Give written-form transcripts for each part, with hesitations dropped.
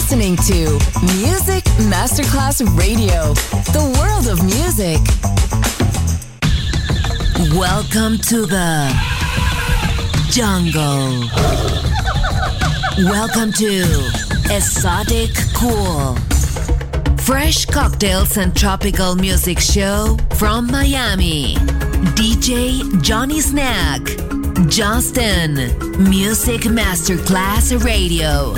listening to Music Masterclass Radio, the world of music. Welcome to the jungle. Welcome to Exotic Cool. Fresh cocktails and tropical music show from Miami. DJ Johnny Snack. Justin. Music Masterclass Radio.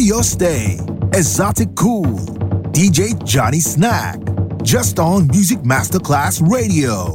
your stay. Exotic Cool, DJ Johnny Snack, just on Music Masterclass Radio.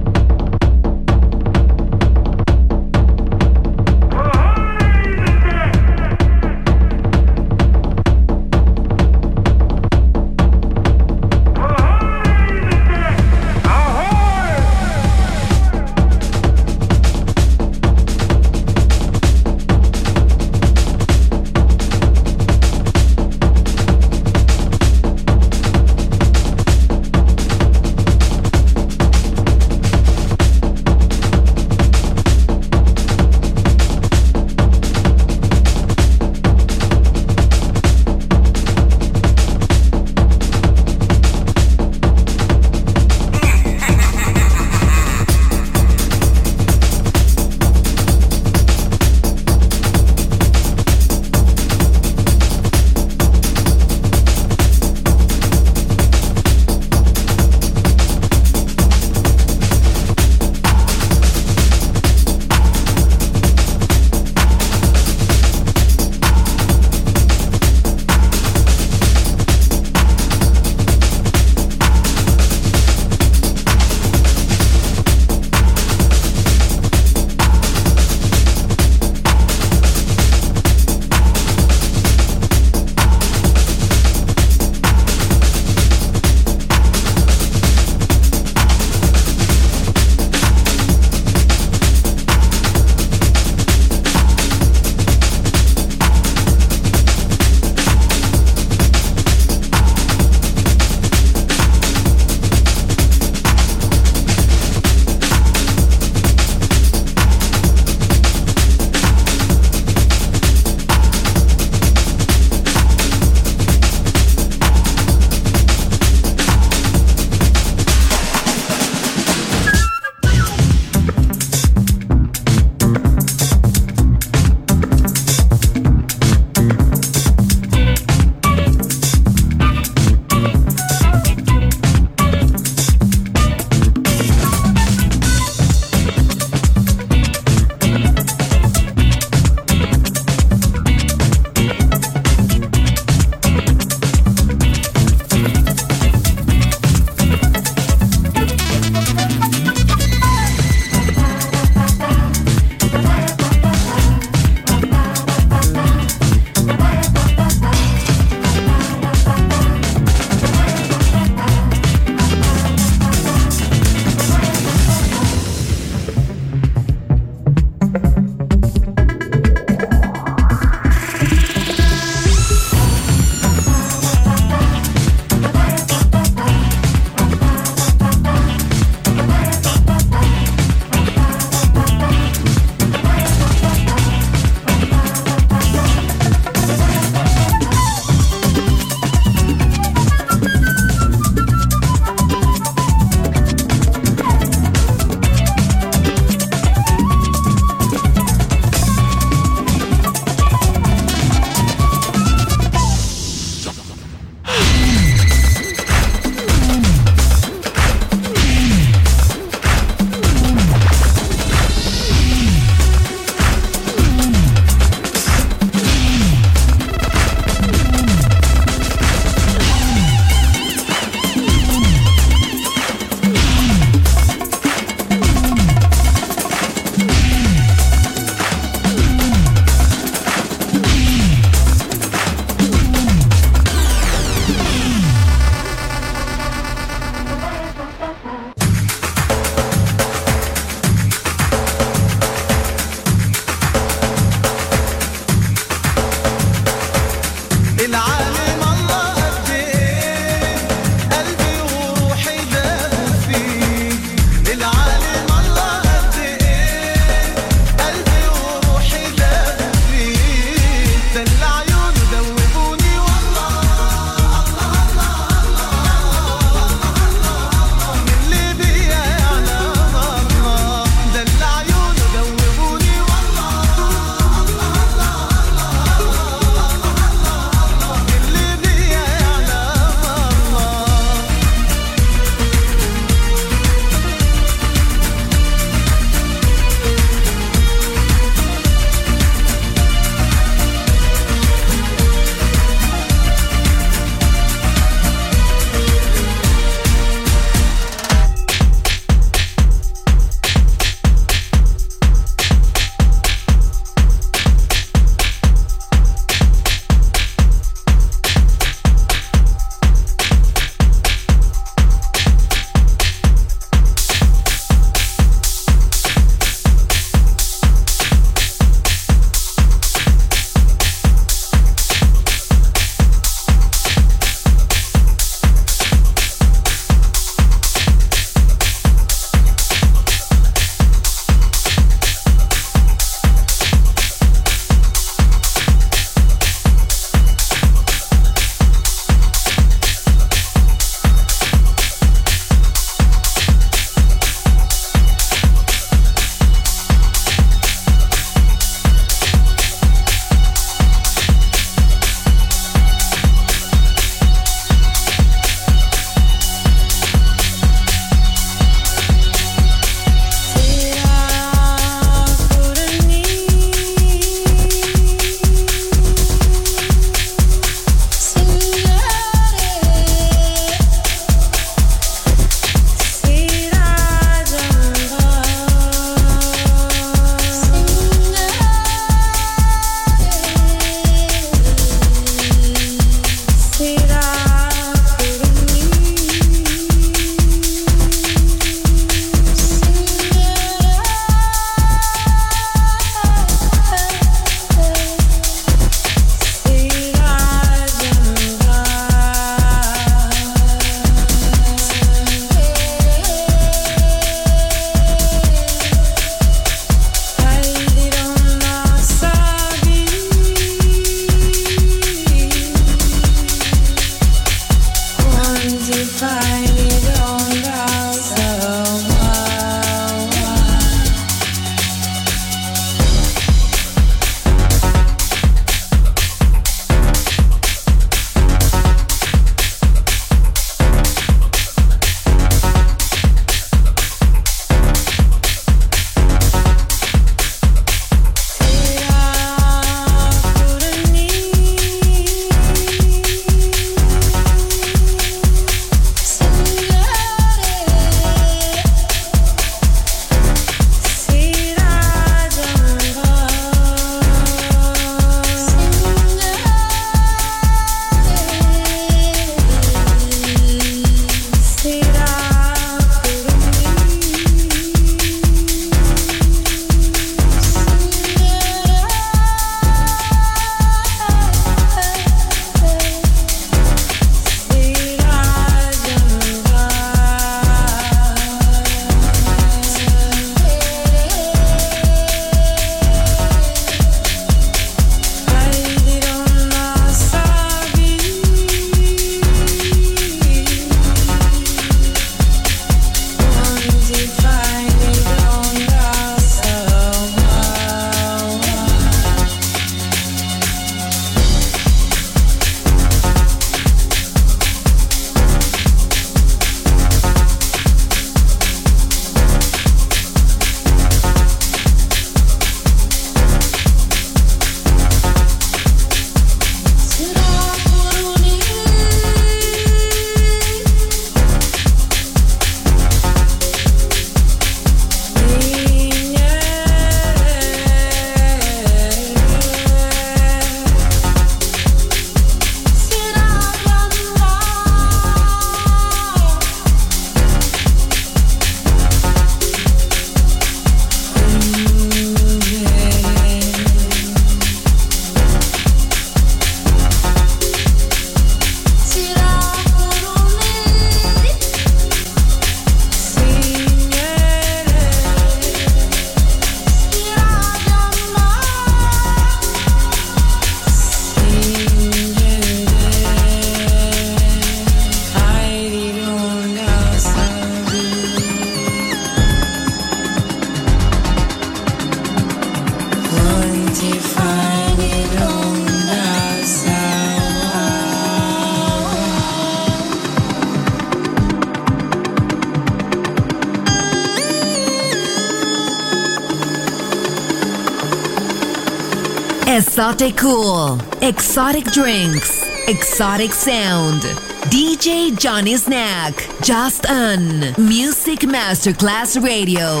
Exotic Cool, exotic drinks, exotic sound. DJ Johnny Snack, just on Music Masterclass Radio.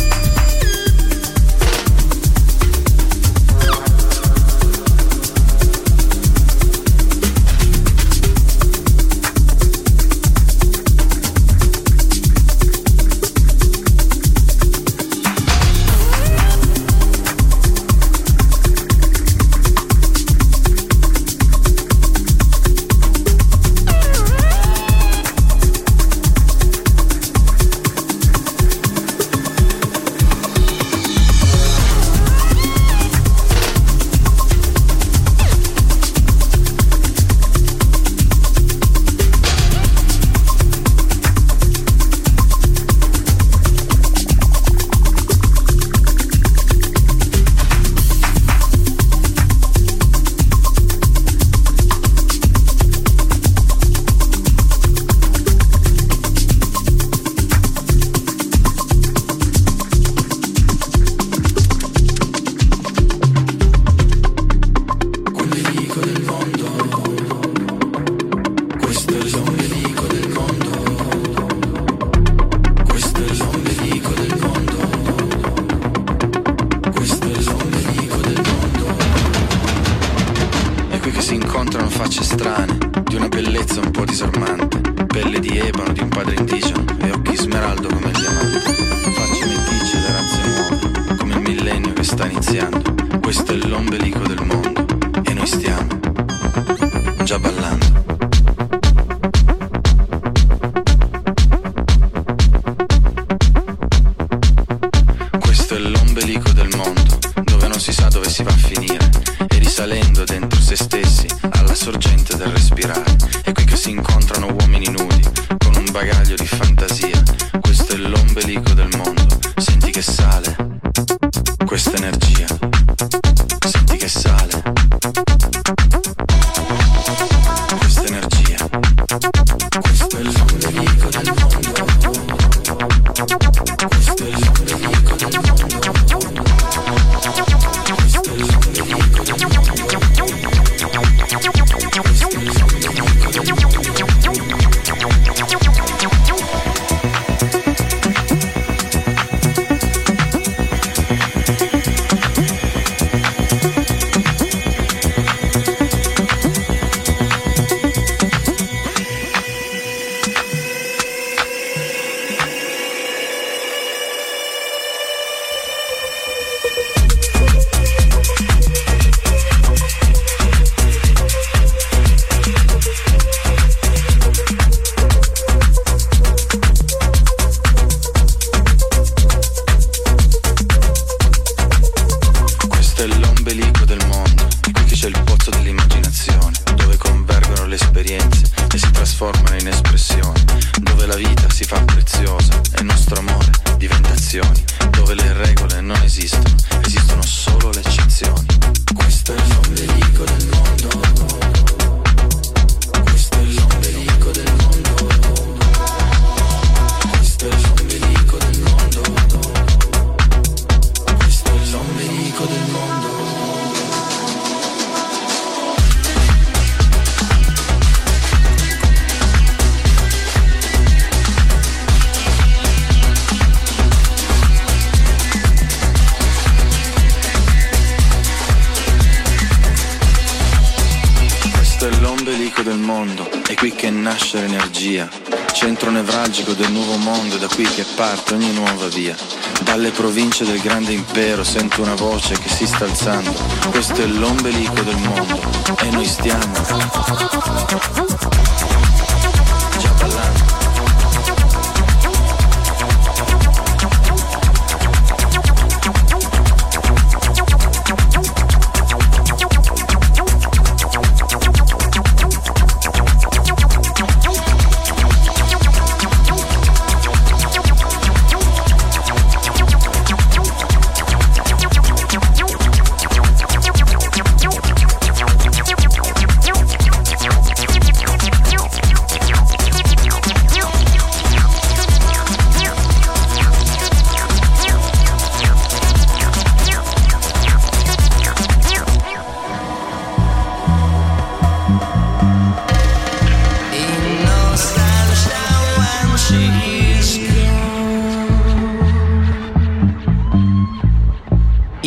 Centro nevralgico del nuovo mondo, è da qui che parte ogni nuova via. Dalle province del grande impero sento una voce che si sta alzando. Questo è l'ombelico del mondo e noi stiamo già ballando.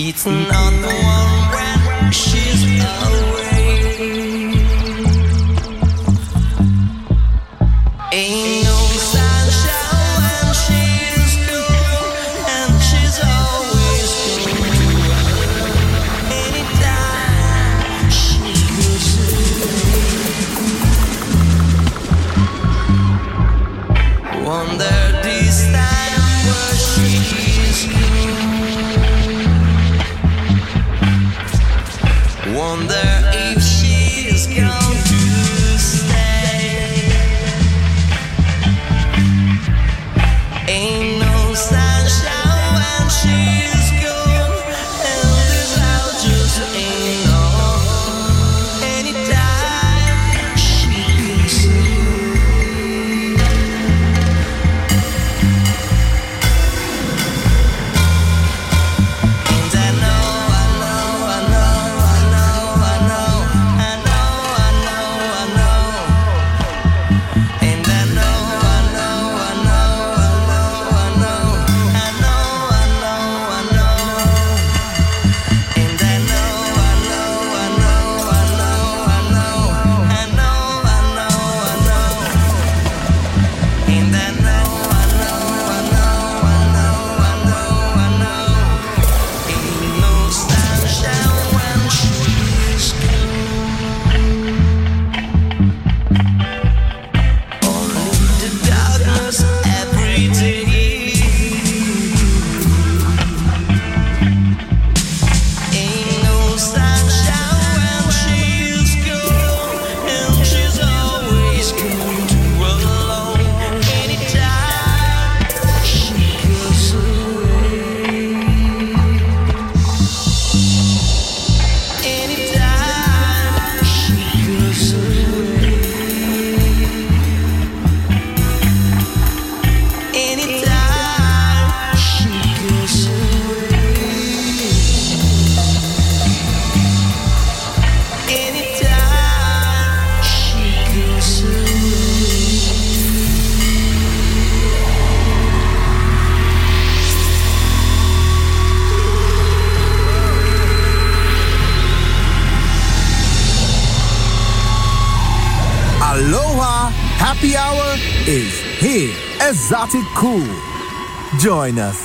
It's not the one when she's away. Ain't no sunshine when she's gone, and she's always gone. Anytime she goes away, wonder this time where she's gone. Wonder if she's going to stay. Ain't no sunshine when she's gone, and this house just ain't on. Anytime she goes away. And I know, I know, I know, I know, I know, I know, I know, I know. And I know, I know, I know, I know, I know, I know, I know, I know. And I know, I know, I know, I know, I know, I know, I know, I know. And I know, I know, I know, I know, I know, I know. Ain't no sunshine when she's gone. Only the darkness every day. Ain't no sunshine when she's gone, and she's always gone too alone. Anytime she goes away. Anytime she goes away. Anytime she goes away. Anytime she goes away. Aloha! Happy Hour is here. Exotic Cool. Join us.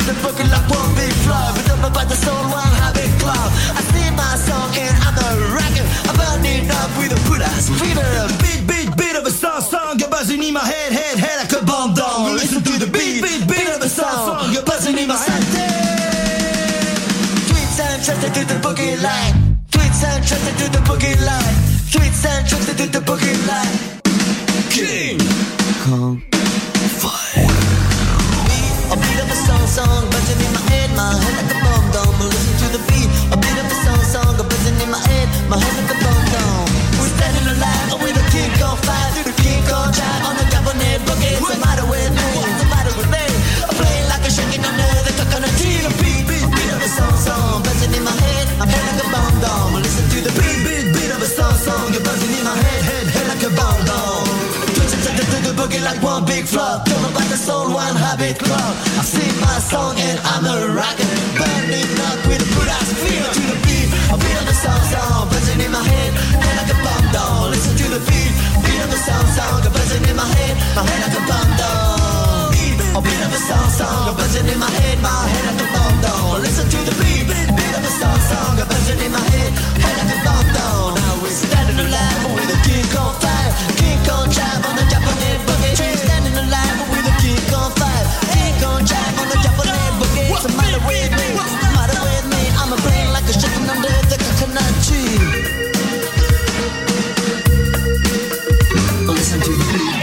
the boogie like one big flow. But don't about the soul, one habit club. I sing my song and I'm a rocker. I'm burning up with a good ass fever. Beat of a song, you're buzzing in my head like a bomb down. Listen to the beat of a song, you're buzzing in my head. Tweets and trusted to the boogie line. Tweets and trusted to the boogie line. Tweets and trusted to the boogie line. King Kong Fire. A beat of a song, buzzing in my head like a bomb down. Listen to the beat, a beat of a song, buzzing in my head like a bomb down. We're standing alive with a King Kong fire, through the King Kong drive on the Japanese boogie. What's the matter with me? What's the matter with me? I'm playing like a shaking under the coconut tree. The beat of a song, buzzing in my head like a bomb down. Listen to the beat of a song, you're buzzing in my head like a bomb down. To the boogie like one big flop. Don't know about the soul, one habit club. I sing my song and I'm a rocker. Burning up with a good ass feel to the beat. A beat of a song, buzzing in my head like a bomb down. Listen to the beat of a song, buzzing in my head like a bomb down. A beat of a song, buzzing in my head like a bomb down. Listen to the beat of a song, buzzing in my head like a bomb down. Now we're standing alive with a King Kong fire, King Kong drive on the Japanese boogie. Standing alive with a King Kong fire, King Kong drive on the Japanese boogie. What's the matter with me? What's the matter with me? I'm a brain like a chicken under the coconut tree. Listen to the beat.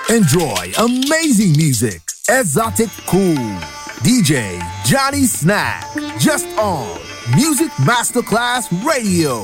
Enjoy amazing music. Exotic Cool. DJ Johnny Snack. Just on Music Masterclass Radio.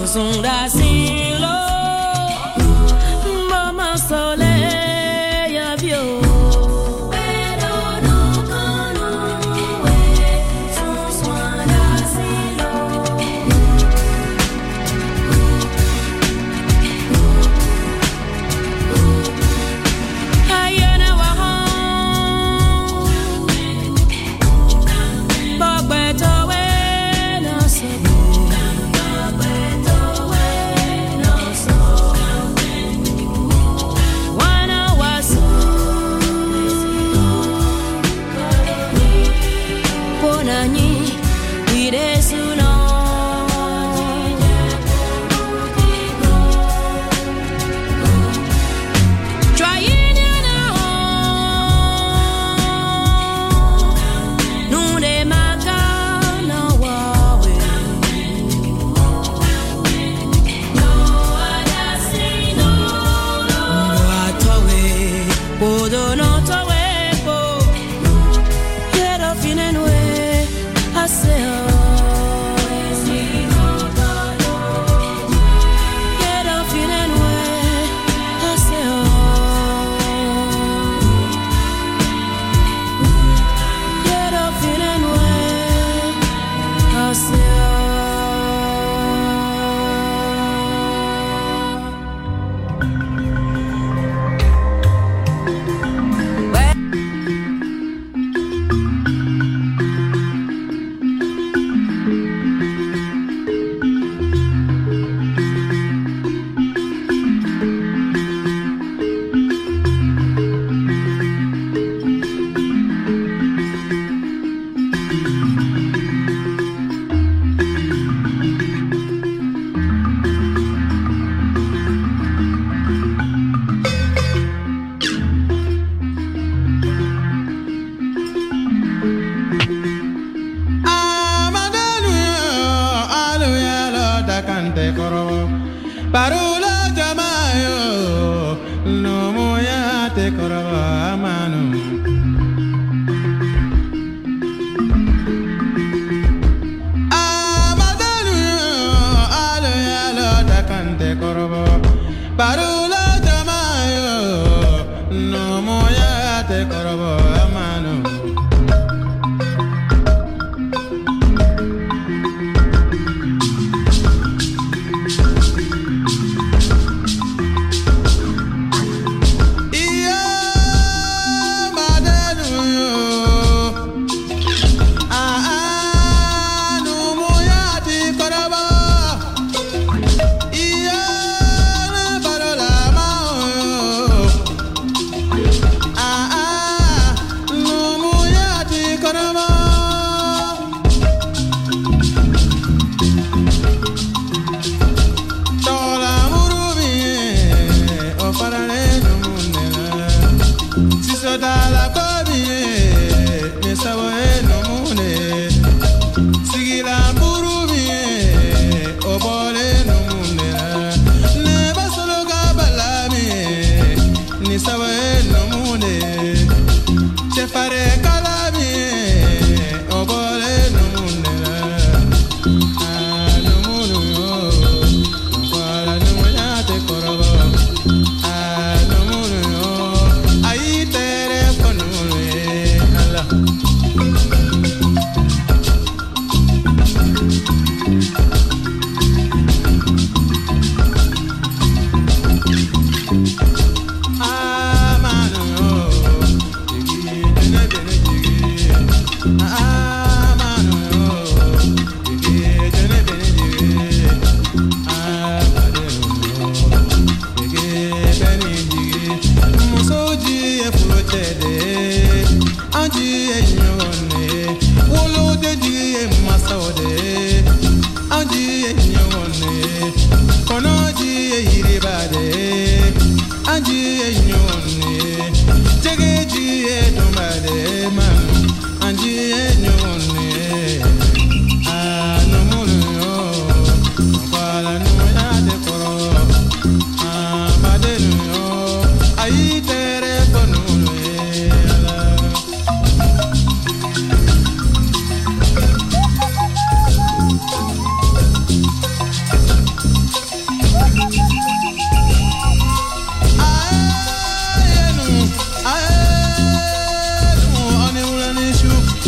Anji enyo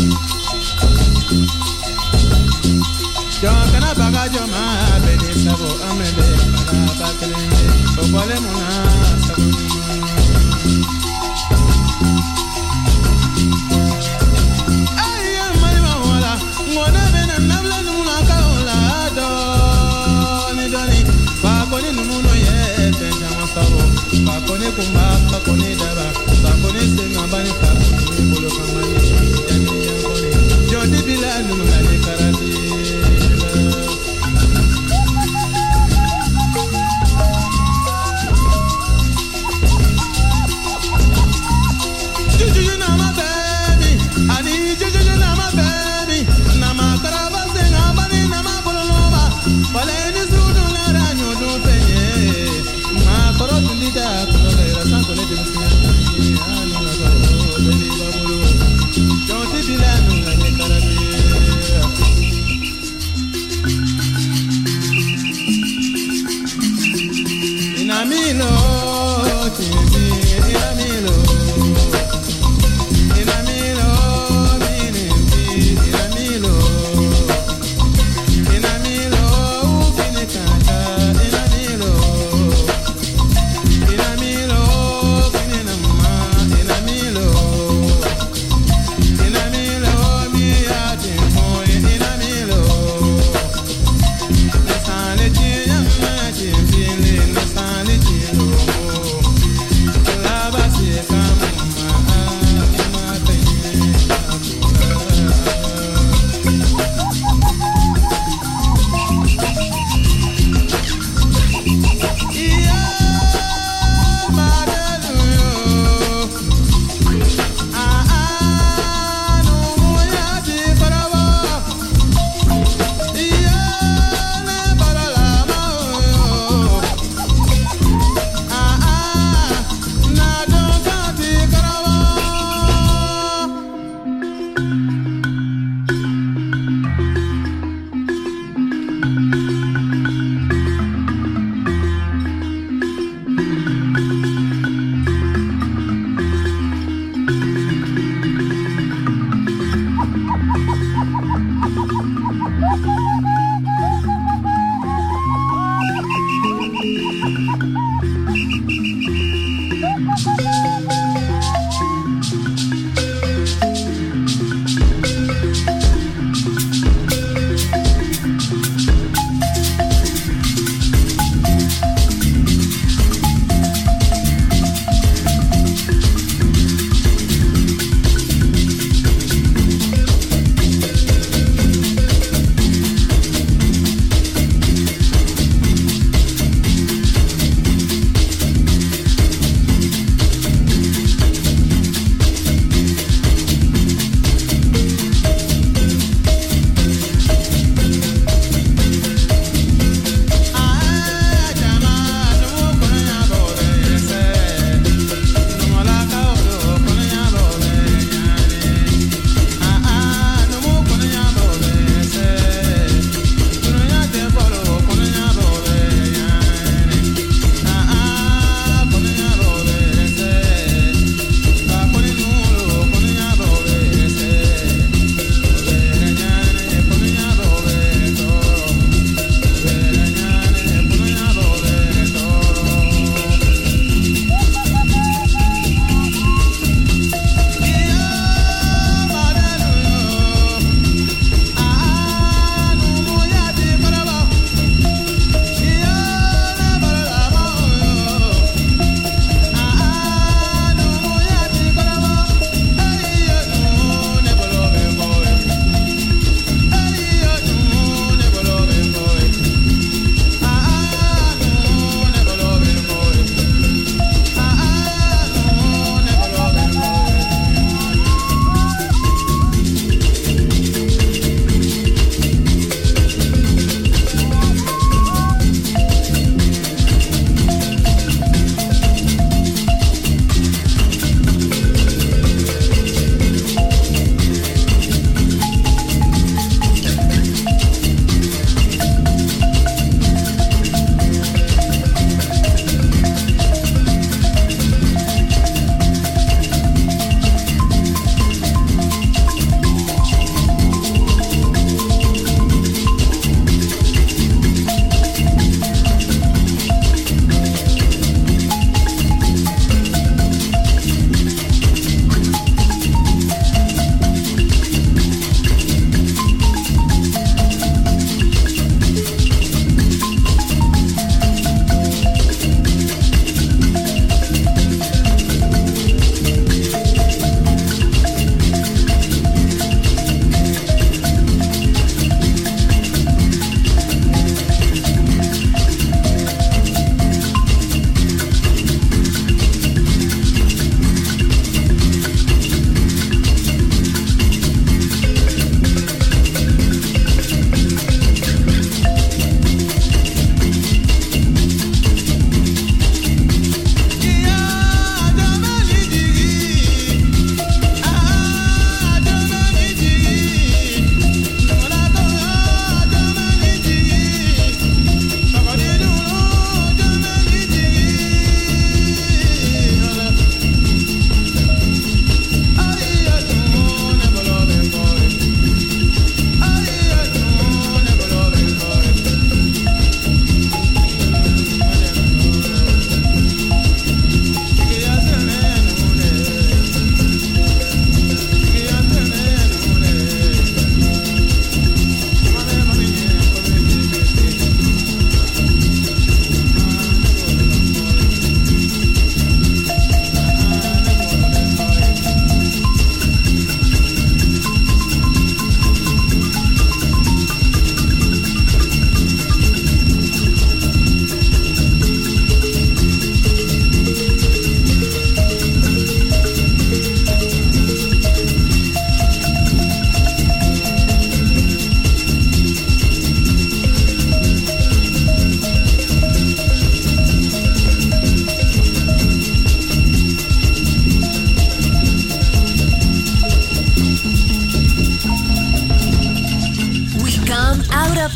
Jokana baga joma beni sabo amede para bakelende obole muna sabo ay mari mawala ngona bena nabla numuna kaola do ni doni ba koni numuno ye benja masabo ba koni kumba ba koni daba ba koni senga bani fa bolo kamani jani jani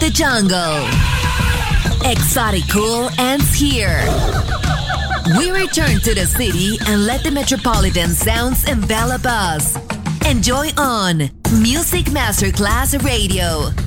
the jungle. Exotic Cool ends here. We return to the city and let the metropolitan sounds envelop us. Enjoy on Music Masterclass Radio.